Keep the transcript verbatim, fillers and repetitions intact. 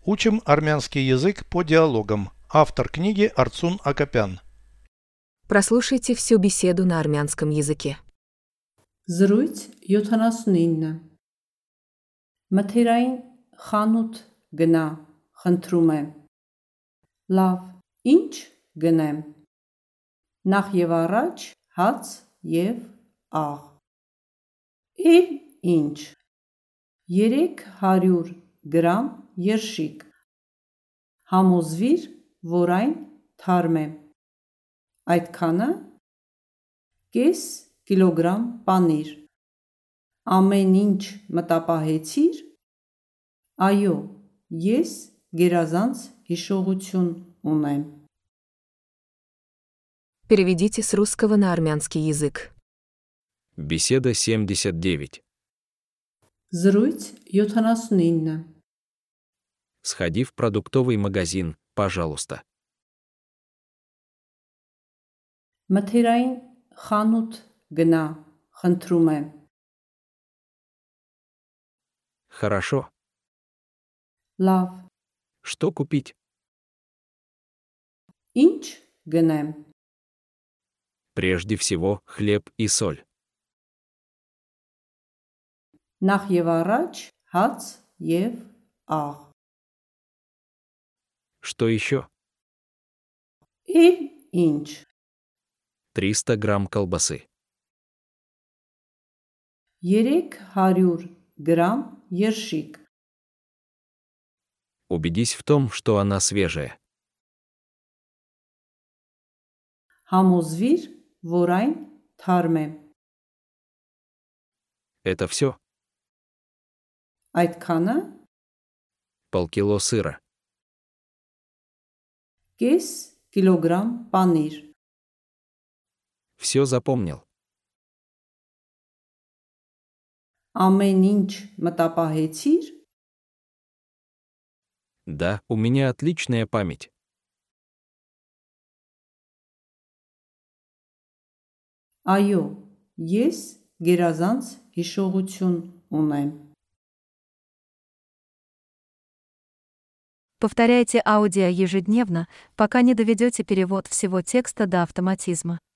Учим армянский язык по диалогам. Автор книги Арцун Акопян. Прослушайте всю беседу на армянском языке. Զրույց յոթանասունինը Մթերային խանութ գնա, խնդրում եմ։ Լավ, ինչ գնեմ։ Նախ եւ առաջ հաց եւ աղ։ Էլ ինչ։ երեք հարյուր գրամ երշիկ։ Համոզվիր, որ այն թարմ է։ Այդքանը։ Կես կիլոգրամ պանիր։ Ամեն ինչ մտապահեցիր։ Այո, ես գերազանց հիշողություն ունեմ։ Переведите с русского на армянский язык. Беседа семьдесят девять. Զրույց յոթանասունինը Сходи в продуктовый магазин, пожалуйста. Մթերային խանութ գնա, խնդրում եմ։ Хорошо. Լավ, Что купить? ինչ գնեմ։ Прежде всего, хлеб и соль. Նախ եւ առաջ հաց եւ աղ։ Что еще? Էլ ինչ։ триста грамм колбасы. երեք հարյուր գրամ երշիկ։ Убедись в том, что она свежая. Համոզվիր, որ այն թարմ է։ Это все? Այդքանը։ Полкило сыра. Կես կիլոգրամ պանիր։ Все запомнил. Ամեն ինչ մտապահեցիր։ Да, у меня отличная память. Այո, ես գերազանց հիշողություն ունեմ։ Повторяйте аудио ежедневно, пока не доведете перевод всего текста до автоматизма.